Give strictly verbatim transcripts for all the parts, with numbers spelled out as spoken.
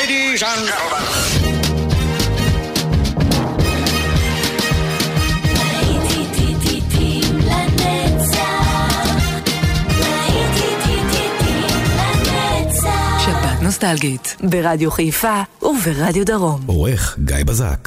Ladies and gentlemen. שבת נוסטלגית ברדיו חיפה וברדיו דרום. עורך גיא בזק.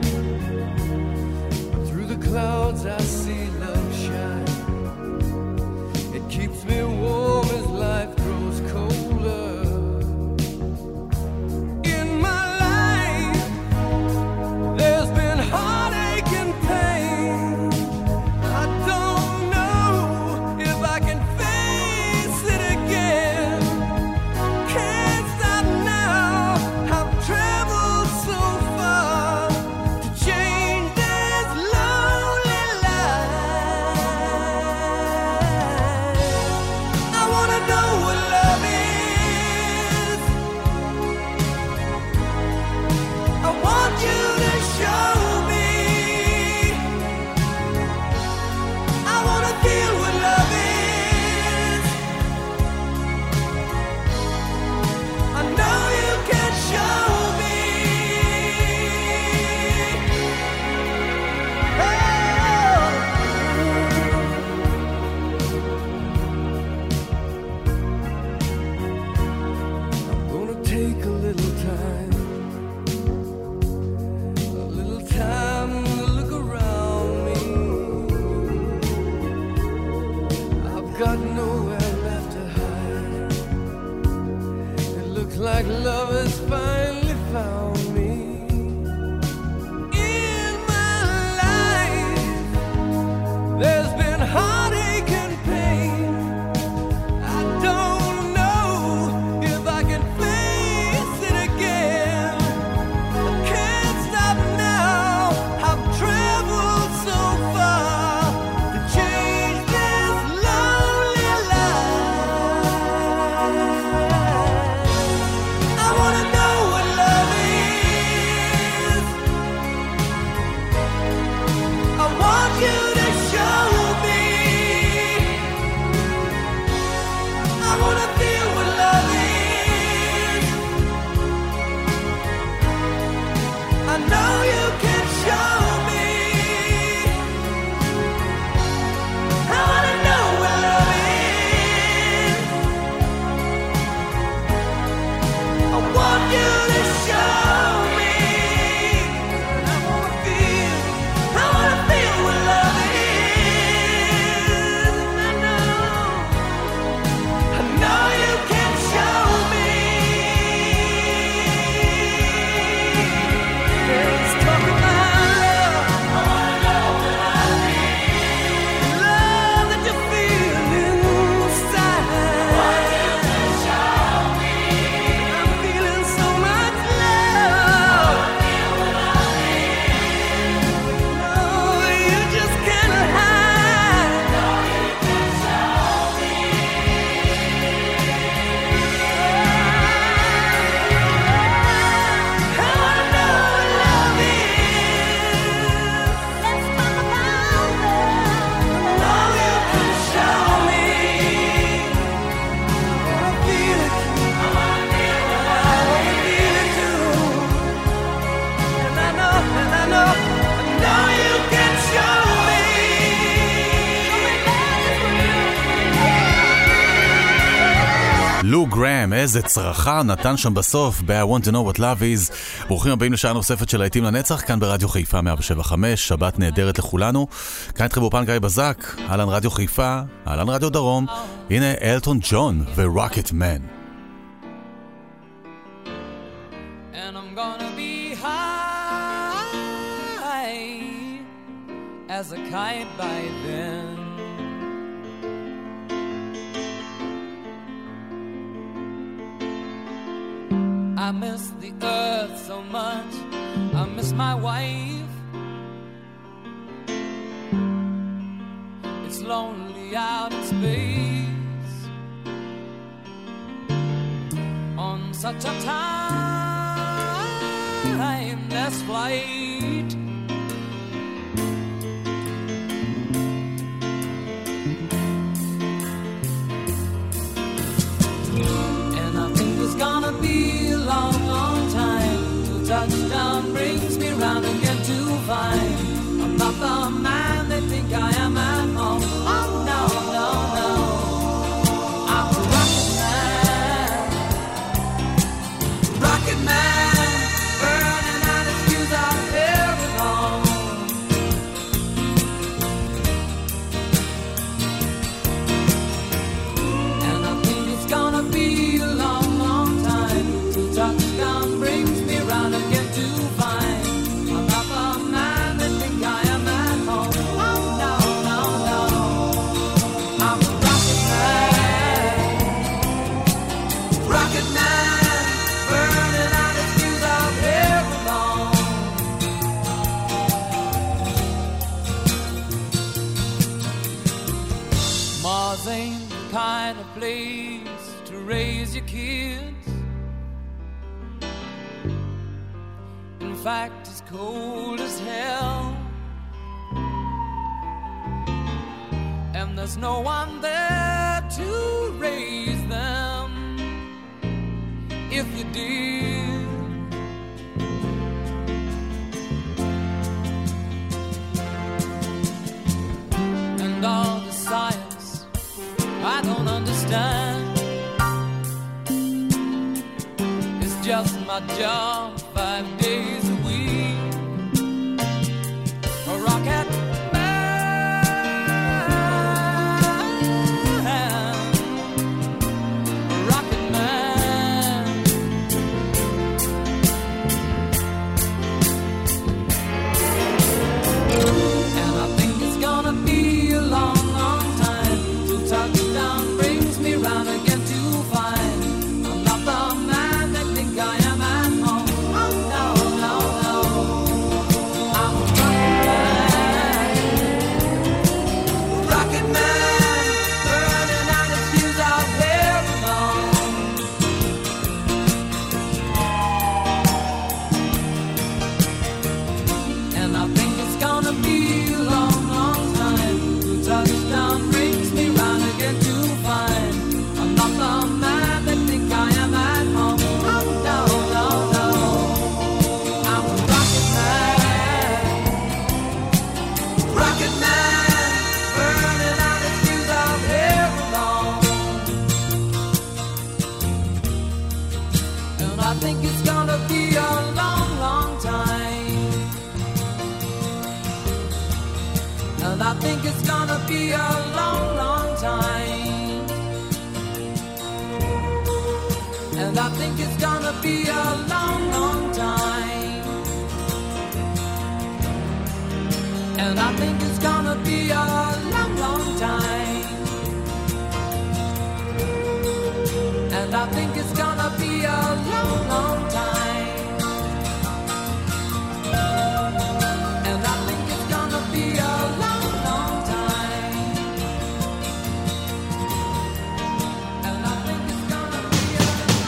Clouds I see love shine. גרם, איזה צרחה נתן שם בסוף ב-I want to know what love is. ברוכים הבאים לשעה נוספת של להיטים לנצח, כאן ברדיו חיפה מאה שבע חמש, שבת נהדרת לכולנו. כאן איתכם באופן גיא בזק, אהלן רדיו חיפה, אהלן רדיו דרום. הנה אלטון ג'ון ורוקט מן. And I'm gonna be high as a kite by then. I miss the earth so much, I miss my wife. It's lonely out in space on such a timeless flight. And I think it's gonna be long, long time till touchdown brings me round again to find I'm not the man they think I am at home. Oh no, no, no, I'm a rocket man, rocket man, burning out his fuse out here alone. And I think it's gonna be a long, long time till touchdown brings me round again to find I'm not the man they think I am at home. Oh no, no, no, I'm a rocket man, rocket man, burning out his fuse out here alone. Mars ain't the kind of place to raise your kids. In fact, it's cold as hell, and there's no one there to raise them if you did. And all the science I don't understand, it's just my job five days a week. A rocket man, a rocket man. And I think it's gonna be a long, long time till touchdown brings me round again to find I'm not the man they think I am at home. Oh no, no, no, I'm a rocket man, rocket man, burning out his fuse out here alone. And I think it's gonna be a long, long time till touchdown brings me round again to find I'm not the man they think I am at home. Oh no, no, no, I'm a rocket man, rocket man, burning out his fuse out here alone. And I think it's gonna be a long, long time. And I think it's gonna be a long, long time. And I think it's gonna be a long, long time. And I think it's gonna be a long, long time. And I think it's gonna be a long, long time. And I think it's gonna be a long, long time. And I think it's gonna be a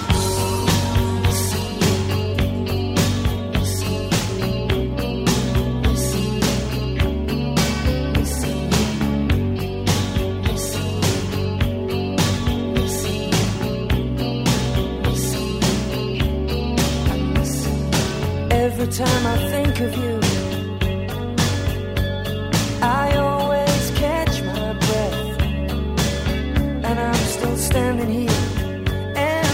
Every time I think of you, I always catch my breath, and I'm still standing here. And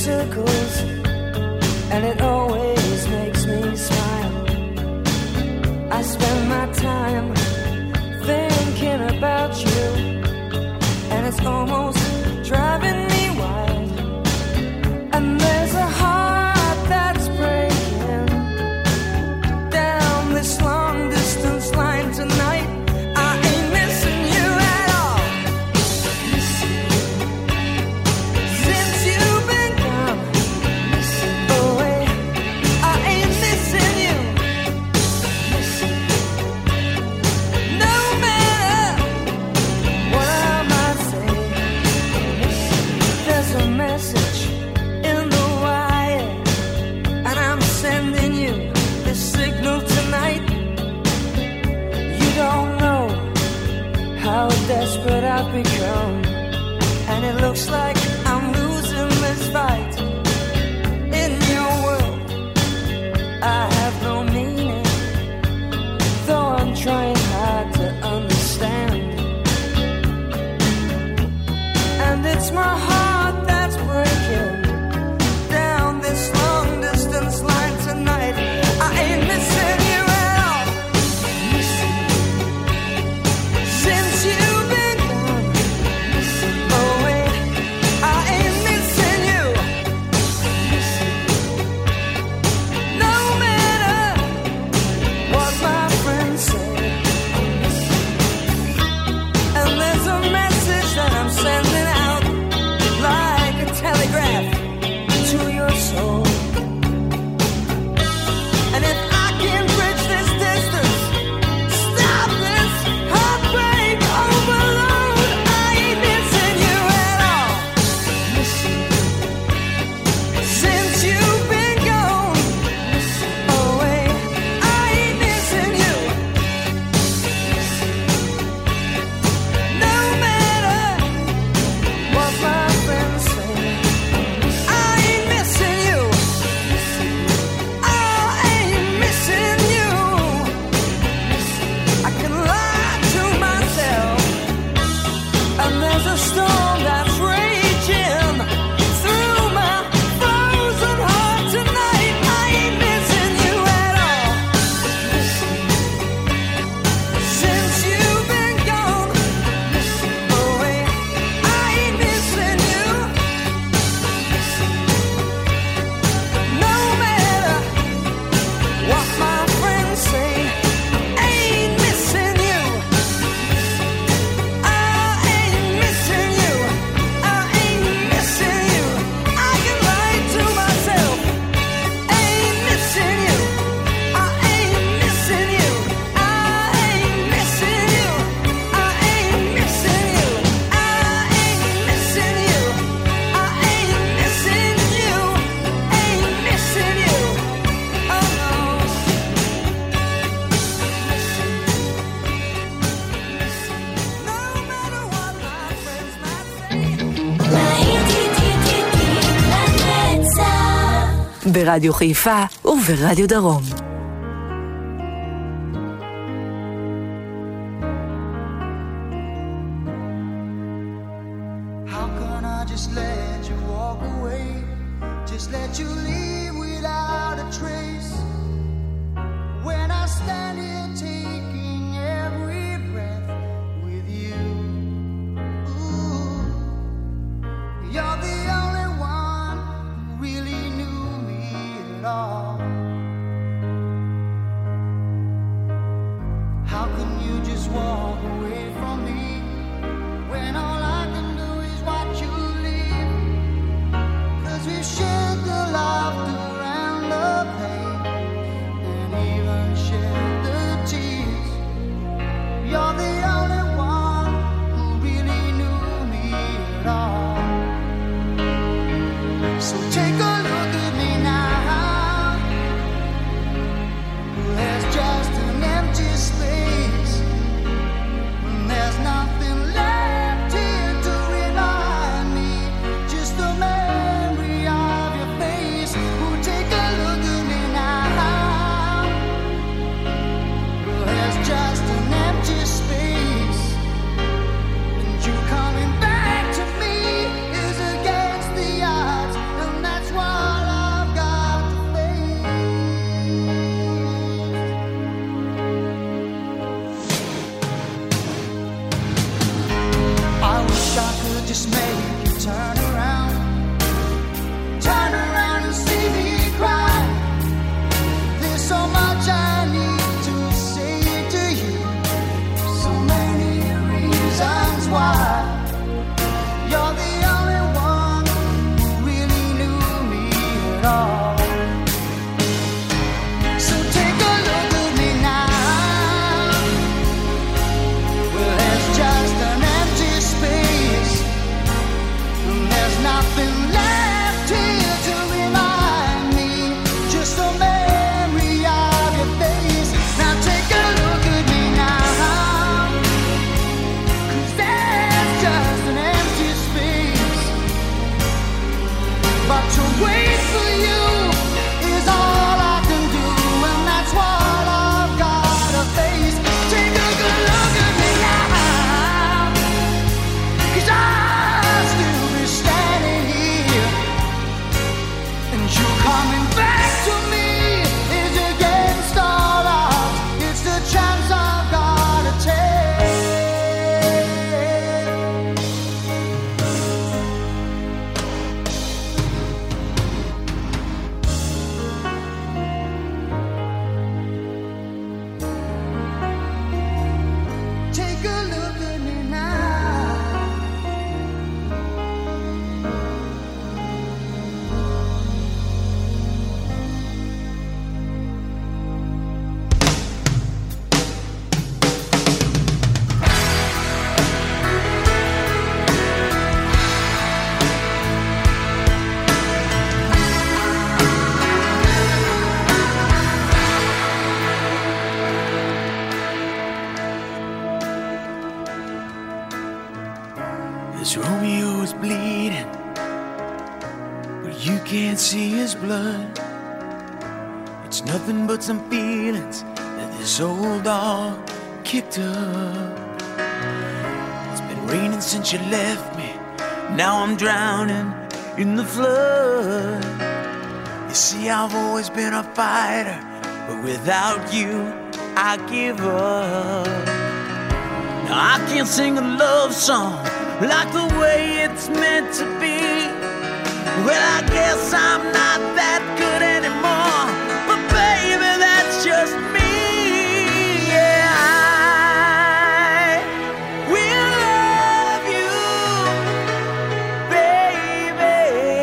circles, and it always makes me smile. I spend my time thinking about you, and it's almost driving me wild. And there's a heart that's breaking down this long distance line tonight. I ain't missing you at all. Since you've been gone away, I ain't missing you. No matter what I might say, there's a message in the wire, and I'm sending you this signal tonight. You don't know how desperate I've become, and it looks like I'm losing this fight. In your world, I have no meaning, though I'm trying hard to understand. And it's my heart that's breaking down this long distance line tonight. I ain't missing you at all. Since you've been gone away, I ain't missing you. No matter what my friends say. And there's a message that I'm sending out like a telegraph to your soul. And if I can bridge this distance, stop this heartbreak overload, I ain't missing you at all. Since you've been gone away, I ain't missing you. No matter what my friends say, I ain't missing you. I ain't missing you. I can lie to myself, and there's a storm that's raging through my frozen heart tonight. I ain't missing you at all. Since you've been gone away, I ain't missing you. No matter what my friends say, ain't missing you. I ain't missing you. I ain't missing you. I can lie to myself. Ain't missing you. I ain't missing you. I ain't missing you. I ain't missing you. I ain't missing you. I ain't missing you. Ain't missing you. Oh no. No matter what my friends might say. ברדיו חיפה וברדיו דרום. How can I just let you walk away? Just let you leave without a trace. When I stand here taking every breath with you. Ooh, you're the only one who really knew me at all. How can you just walk away from me when all I can do is watch you leave? 'Cause we shared the laughter and the pain, and even shared the tears. You're the only one who really knew me at all. So take a look at me now. but to wait for you is all I can do, and that's what I've gotta face. Take a good look at me now, 'cause I'll still be standing here, and you coming back to me is against all odds. It's the chance I've gotta take. Take a look at me now. This Romeo is bleeding, but you can't see his blood. It's nothing but some feelings that this old dog kicked up. It's been raining since you left me, now I'm drowning in the flood. You see, I've always been a fighter, but without you, I give up. Now I can't sing a love song like the way it's meant to be. Well, I guess I'm not that good anymore, but baby, that's just me. Yeah, I will love you, baby,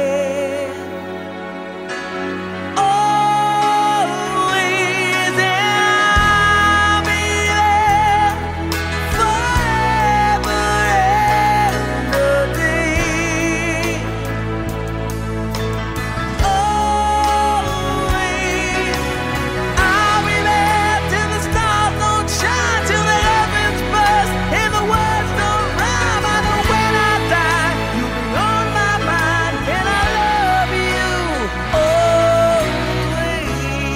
always, and I'll be there forever and a day. Always, I'll be there till the stars don't shine, till the heavens burst and the words don't rhyme. I know when I die, you'll be on my mind, and I love you always.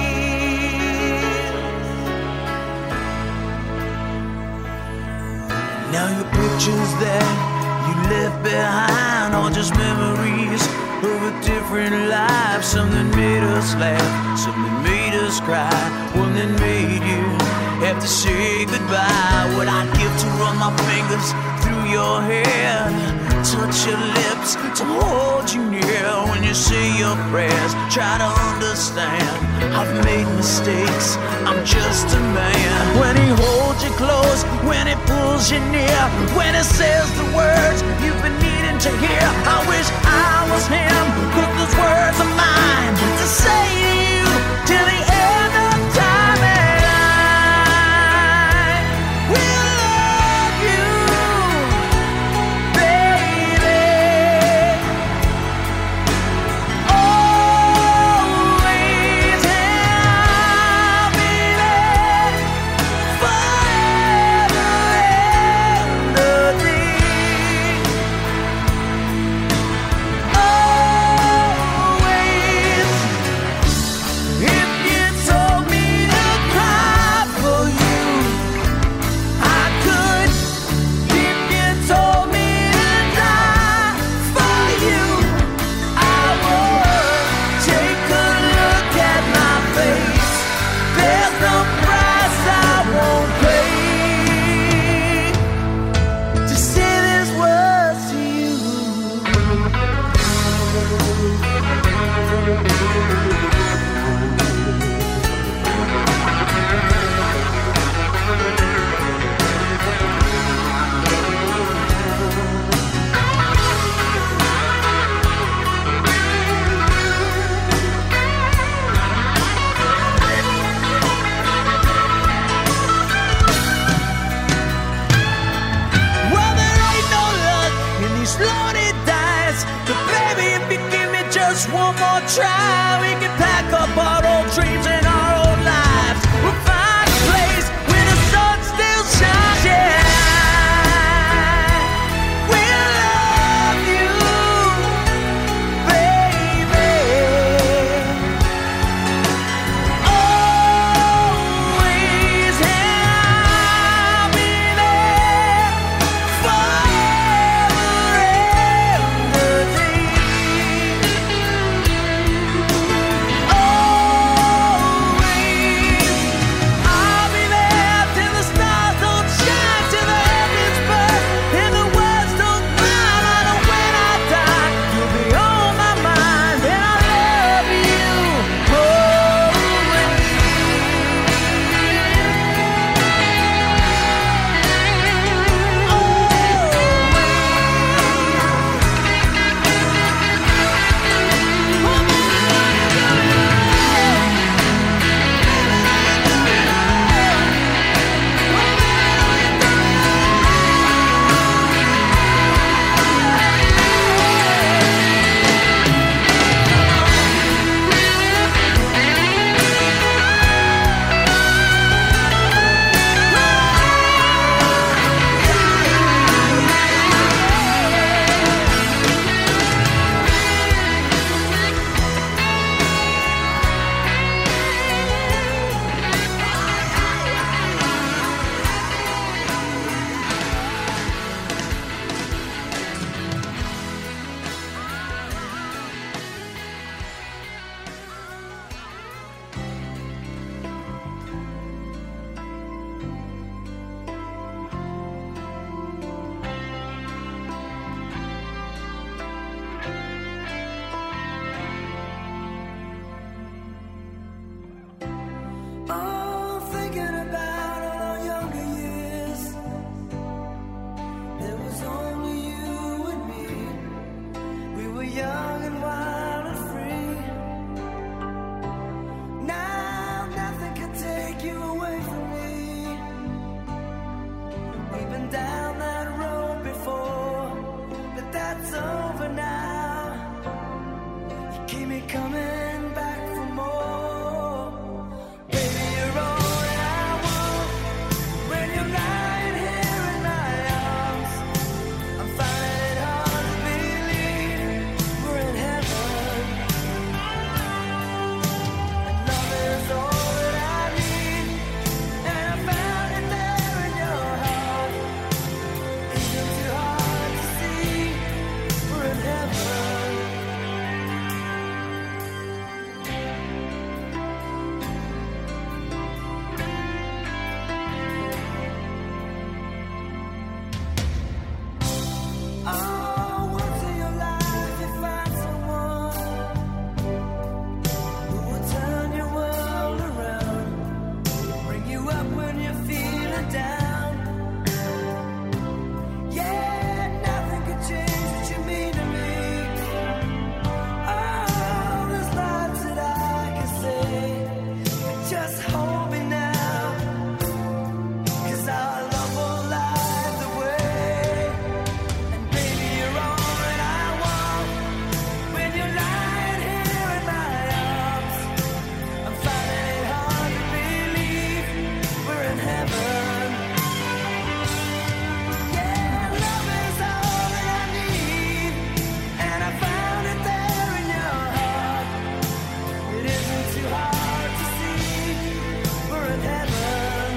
Now your pictures that you left behind are just memories of a different life. Something made us laugh, something made us cry, one that made you have to say goodbye. What I'd give to run my fingers through your hair, touch your lips, to hold you near when you say your prayers. Try to understand, I've made mistakes, I'm just a man. When he holds you close, when he pulls you near, when he says the words you've been needing to hear, I wish I was him, 'cause those words are mine to say to you till the end of time. And I will love you, baby, always, and I'll be there forever and a day. Always, if you told me to cry for you, I could. If you told me to die for you, I would. Take a look at my face, there's no price I won't pay to say these words to you. Well, there ain't no luck in these lonely days, but baby, if you give me just one more try, we can pack up our old dreams and our old lives. We'll find a place where the sun still shines. Yeah, we'll love you, baby. coming back for more. Baby, you're all that I want. When you're lying here in my arms, I'm finding it hard to believe we're in heaven. And love is all that I need, and I found it there in your heart. Isn't too hard to see we're in heaven. Oh, once in your life you find someone who will turn your world around, bring you up when you're feeling down. Yeah, nothing can change what you mean to me. Oh, there's lots that I can say, but just hold me now, 'cause our love will light the way. And baby, you're all that I want. When you're lying here in my arms, I'm finding it hard to believe we're in heaven. Yeah, love is all that I need, and I found it there in your heart. It isn't too hard to see we're in heaven.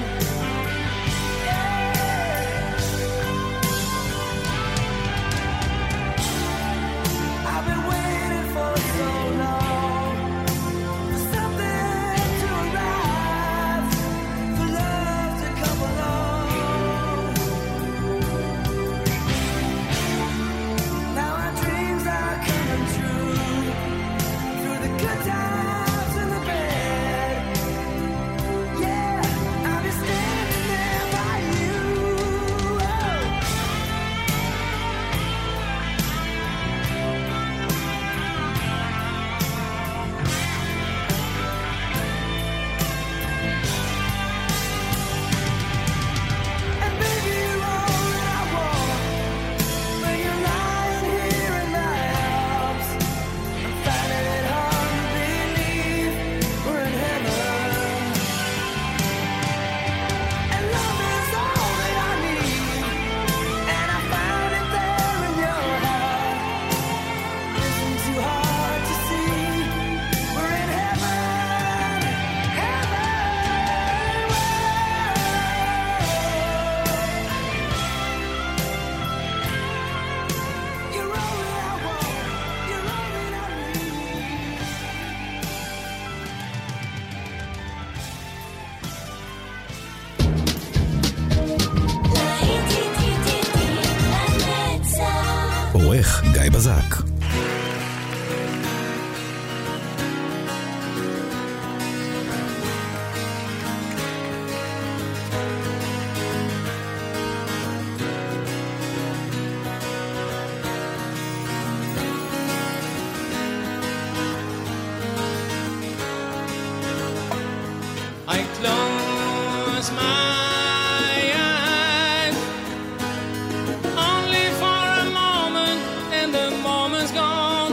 I've been waiting for so long for something to arrive, for love to come along. Now our dreams are coming true, through the good times and the bad. Yeah, I'll be standing there by you. Oh. And baby, you're all that I want. When you're lying here in my arms, I'm finding it hard to believe we're in heaven. And love is all that I need, and I found it there in your heart. Isn't too hard to see we're in heaven, heaven. You're all that I want, you're all that I need. עורך גיא בזק. I close my eyes only for a moment, and the moment's gone.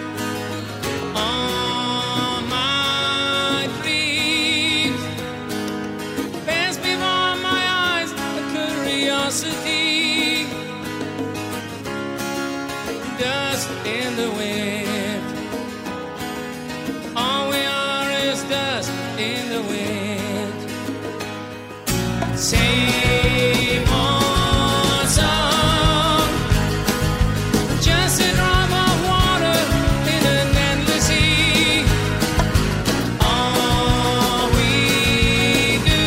All my dreams pass before my eyes, a curiosity, dust in the wind. All we are is dust in the wind. Same old song, just a drop of water in an endless sea. All we do,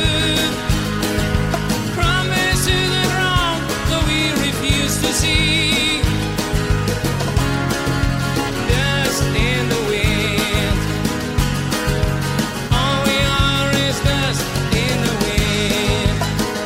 promise to the ground, though we refuse to see. Dust in the wind. All we are is dust in the wind.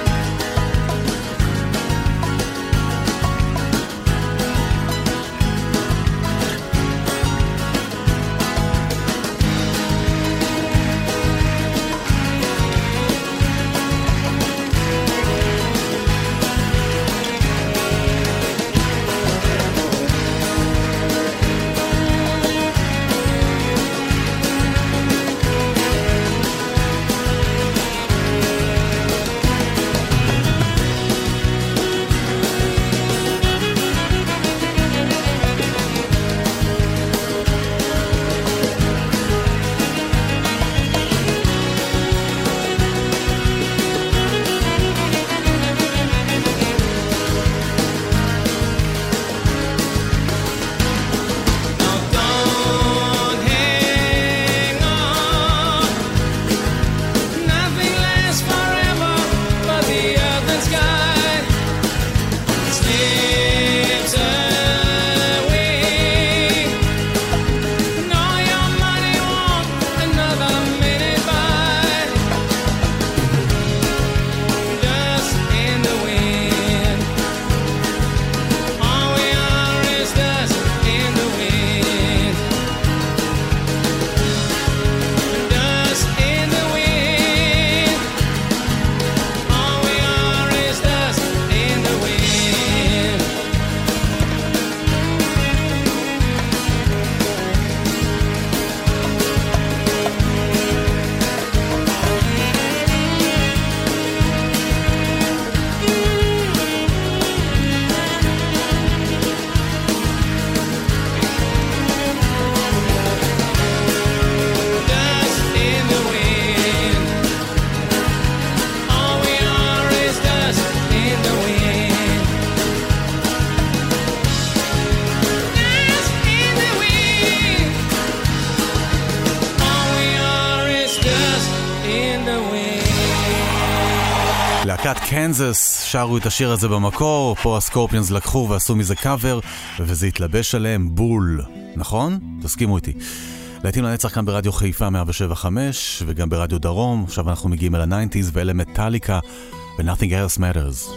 להקת קנזס שרו את השיר הזה במקור, פה הסקורפיונס לקחו ועשו מזה קאבר, וזה התלבש עליהם בול, נכון? תסכימו איתי. להיטים לנצח כאן ברדיו חיפה מאה שבע חמש וגם ברדיו דרום. עכשיו אנחנו מגיעים אל ה-תשעים ואלה מטליקה ו-Nothing Else Matters.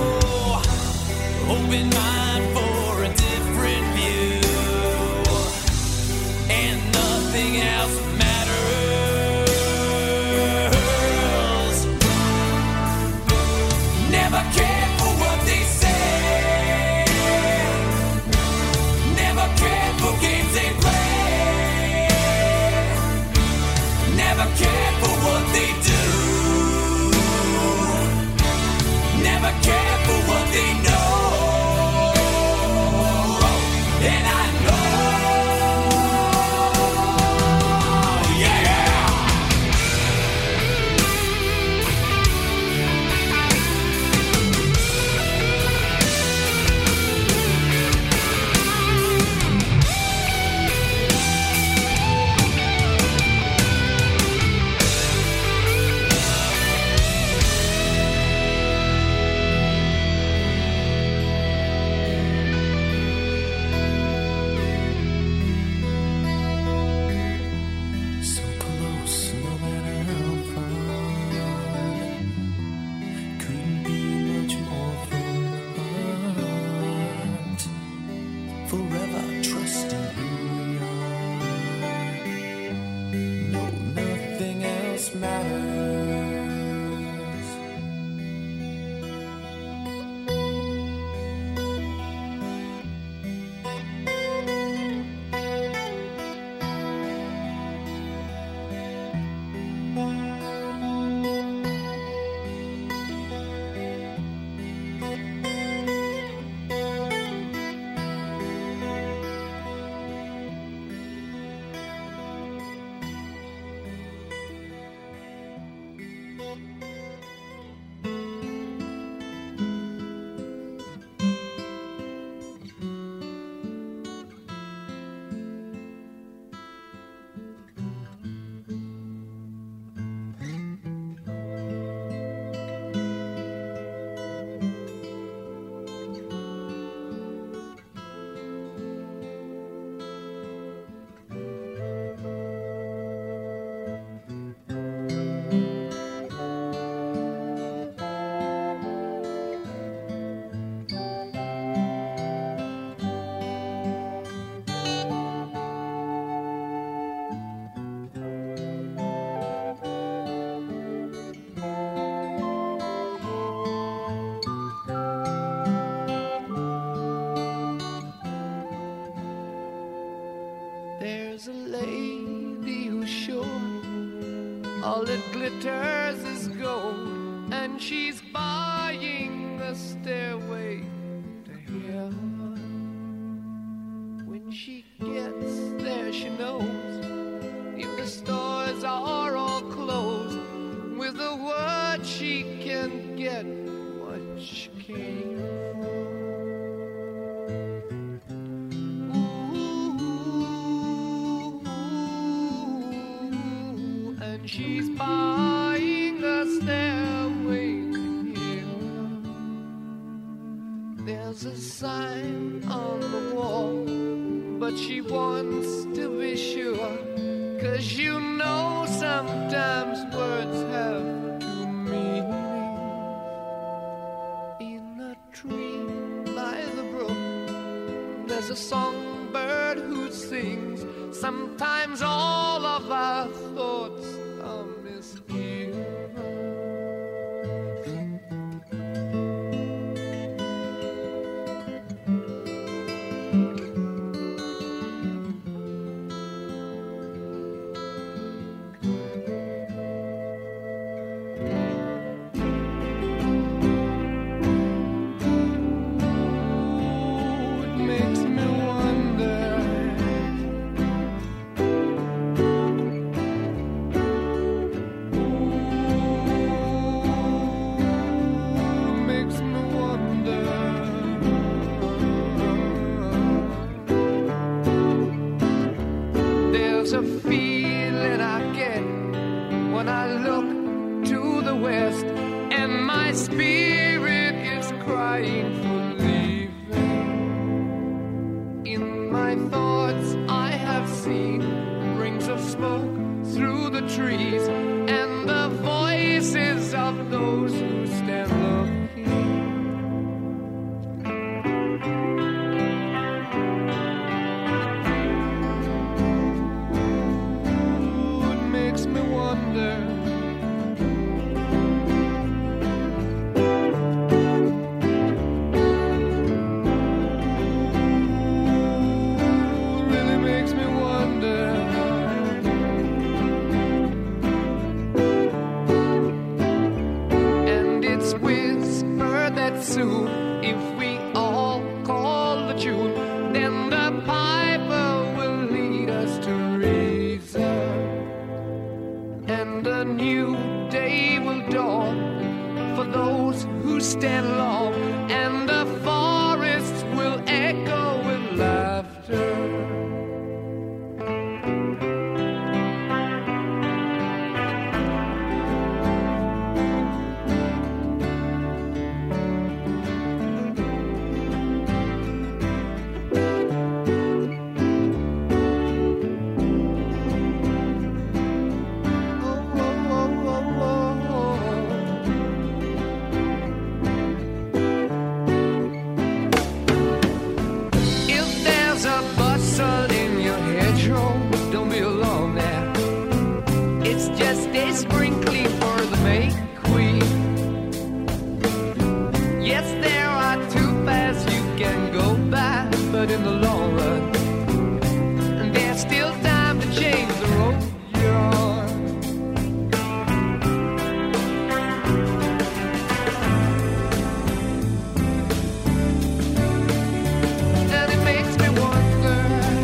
Open mind for a different view. forever trusting who we are. No, nothing else matters. There's a lady who's sure all that glitters is gold, and she's buying the stairway to heaven. When she gets there, she knows if the stores are all closed, with a word she can get what she came for. She's buying a stairway to heaven. There's a sign on the wall, but she wants to be sure, 'cause you know sometimes words have two meanings. In a tree by the brook, there's a songbird who sings. Sometimes all of our thoughts are misgiven. There's a feeling I get when I look to the west, and my spirit is crying for leaving. In my thoughts I have seen rings of smoke through the trees, and the voices of those who stand looking. but in the long run, there's still time to change the road you're on. And it makes me wonder,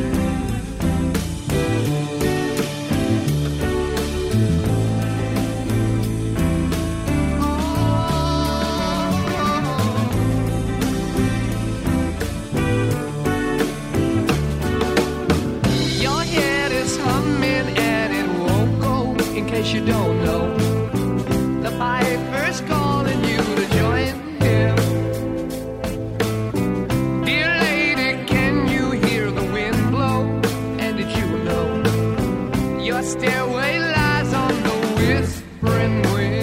you don't know, the piper's calling you to join him. Dear lady, can you hear the wind blow? And did you know your stairway lies on the whispering wind?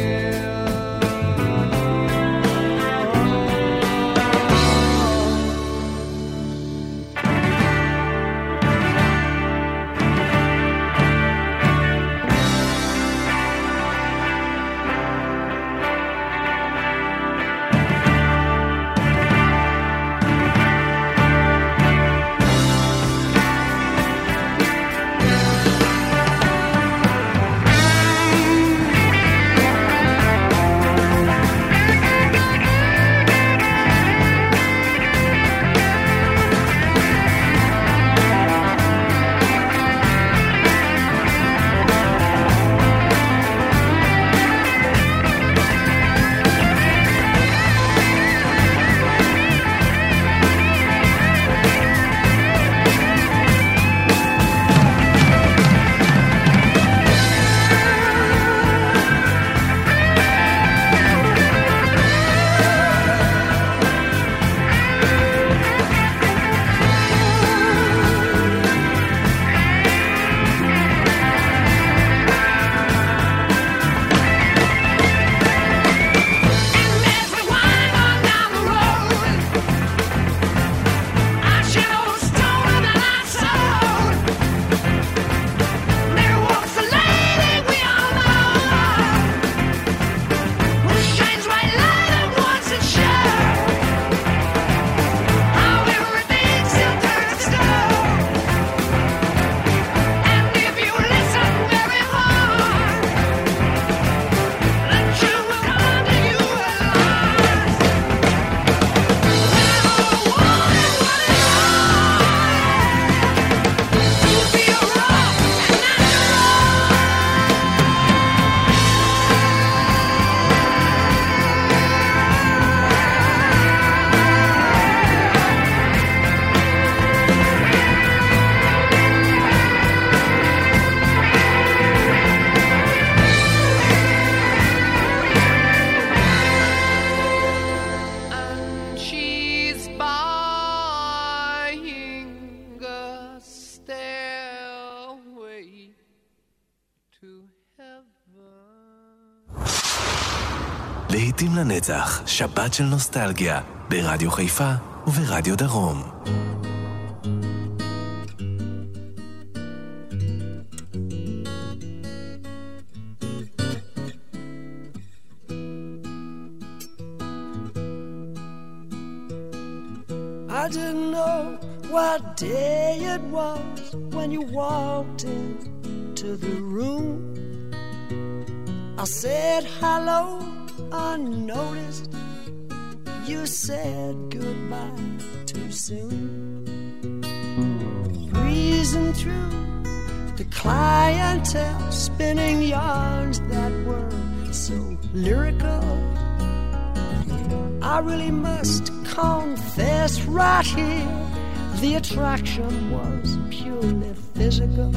להיטים לנצח, שבת של נוסטלגיה, ברדיו חיפה וברדיו דרום. I didn't know what day it was when you walked into the room. I said hello unnoticed. You said goodbye too soon. Breezing through the clientele, spinning yarns that were so lyrical. I really must confess right here, the attraction was purely physical.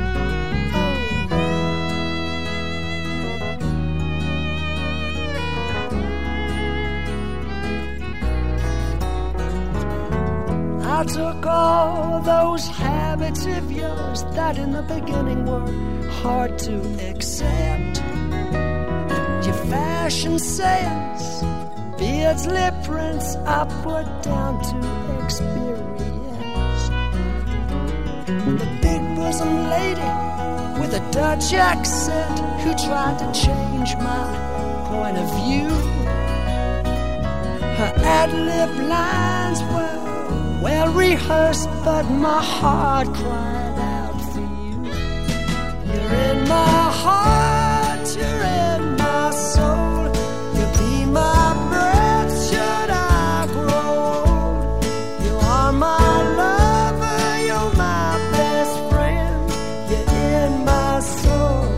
I took all those habits of yours that in the beginning were hard to accept. Your fashion sense, beards, lip prints, I put down to experience. The big bosom lady with a Dutch accent who tried to change my point of view. Her ad-lib lines were well rehearsed, but my heart cried out for you. You're in my heart, you're in my soul. You'll be my breath should I grow old. You are my lover, you're my best friend. You're in my soul.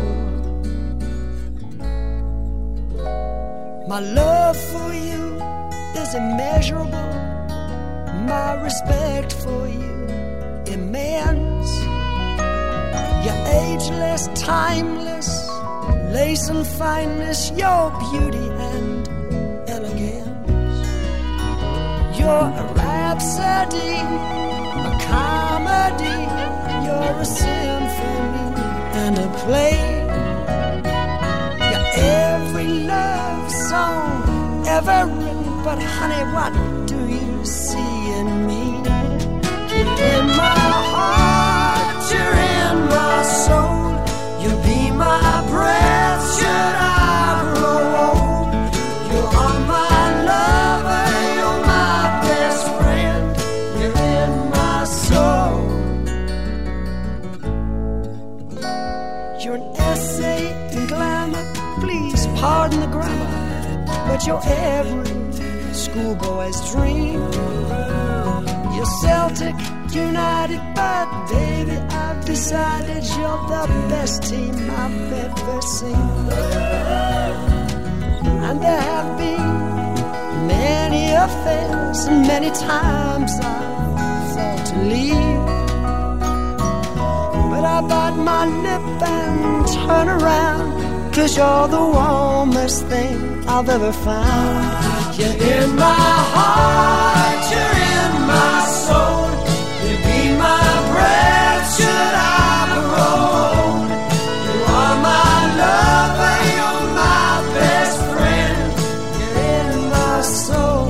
My love for you is immeasurable. My respect for you immense. You're ageless, timeless, lace and fineness, your beauty and elegance. You're a rhapsody, a comedy. You're a symphony and a play. You're every love song ever written, but honey, what do you see in me? You're in my heart, you're in my soul. You'll be my breath should I grow old. You are my lover, you're my best friend. You're in my soul. You're an essay in glamour, please pardon the grammar, but you're every schoolboy's dream. You're Celtic United, but baby, I've decided you're the best team I've ever seen. And there have been many affairs, and many times I've thought to leave, but I bite my lip and turn around, 'cause you're the warmest thing I've ever found. You're in my heart, you're in my soul. You'll be my breath should I grow old. You are my lover, you're my best friend. You're in my soul.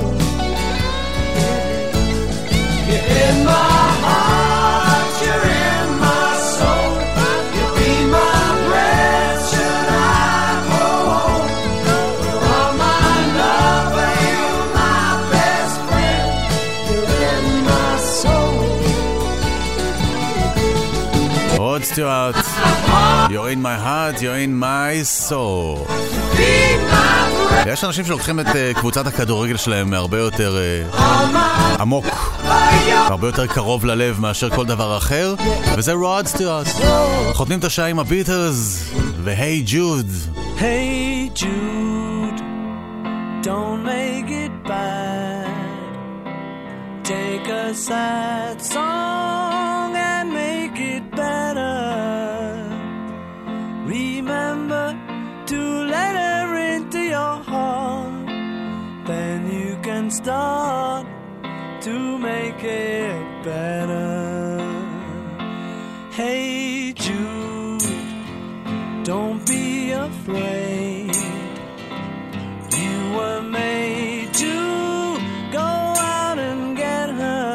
You're in my heart, you're in my soul. You'll be my breath should I grow old. You are my lover, you're my best friend. You're in my soul. רוד סטיוארט, You're in my heart, you're in my soul. יש אנשים שלוקחים את uh, קבוצת הכדורגל שלהם מהרבה יותר uh, עמוק, הרבה יותר קרוב ללב מאשר כל דבר אחר, וזה רוד סטיוארט. חותמים את השעה עם הביטלס ו-Hey Jude. Hey Jude, don't make it bad. Take a sad song and make it better. Remember to let her into your heart. Then you can start to make it better. Hey Jude, don't be afraid. You were made to go out and get her.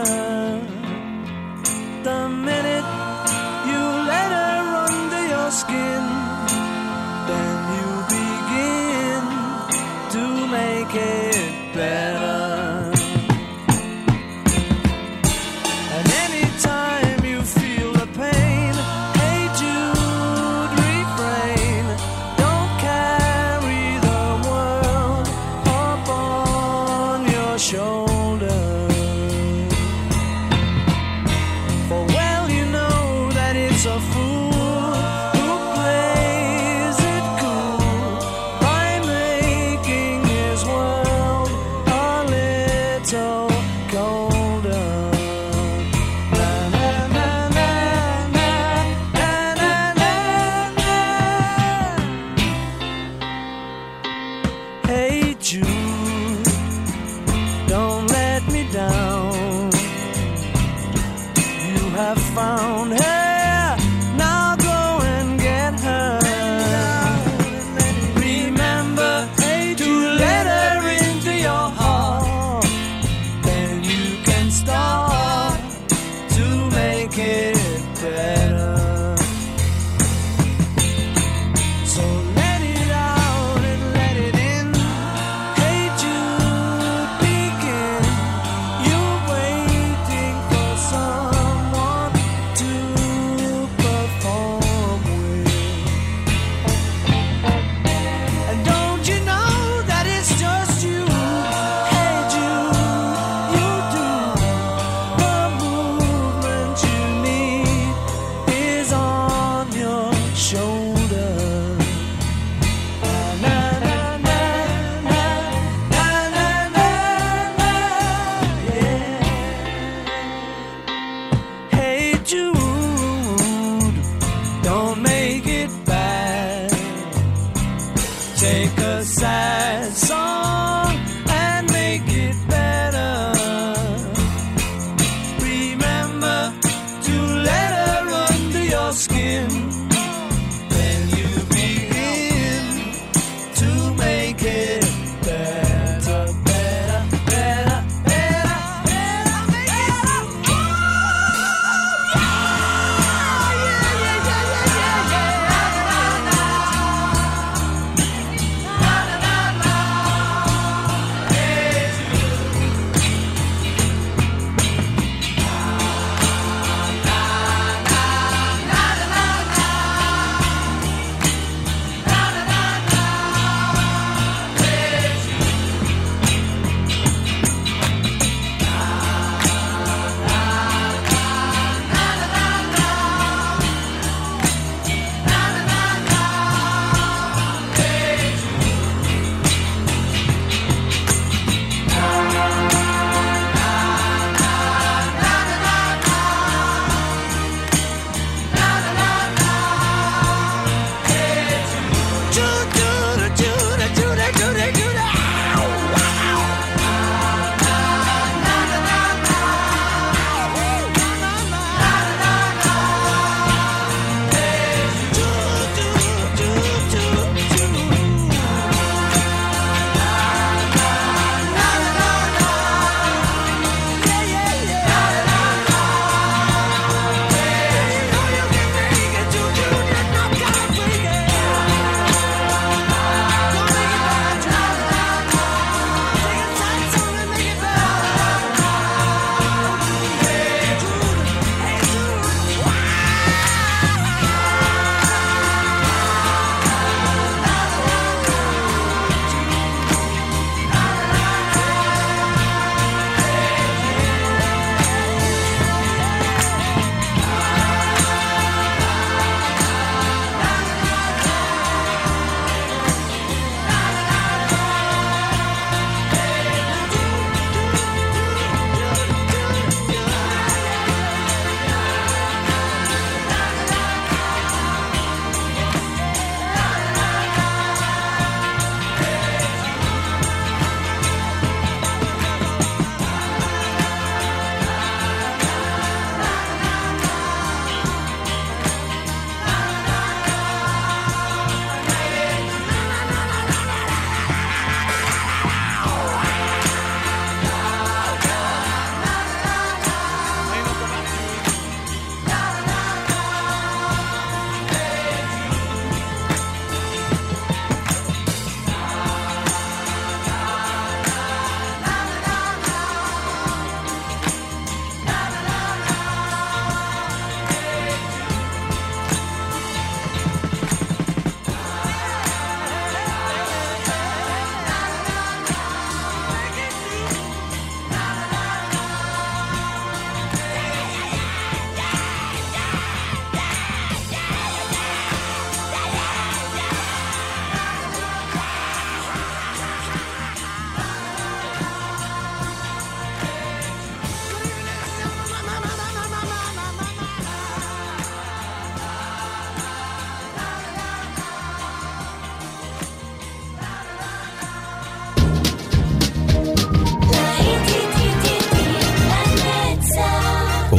The minute you let her under your skin, then you begin to make it better. And anytime you feel the pain, hey Jude, refrain. Don't carry the world upon your shoulder. For well you know that it's a fool who plays it cool by making his world a little colder. Na na na na na na na na na. Hey Jude, don't let me down. You have found her, now go and get her. Remember to let her into your heart. Then you can start to make it better. So let it out and let it in. Hey Jude, begin. You're waiting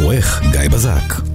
עורך גיא בזק.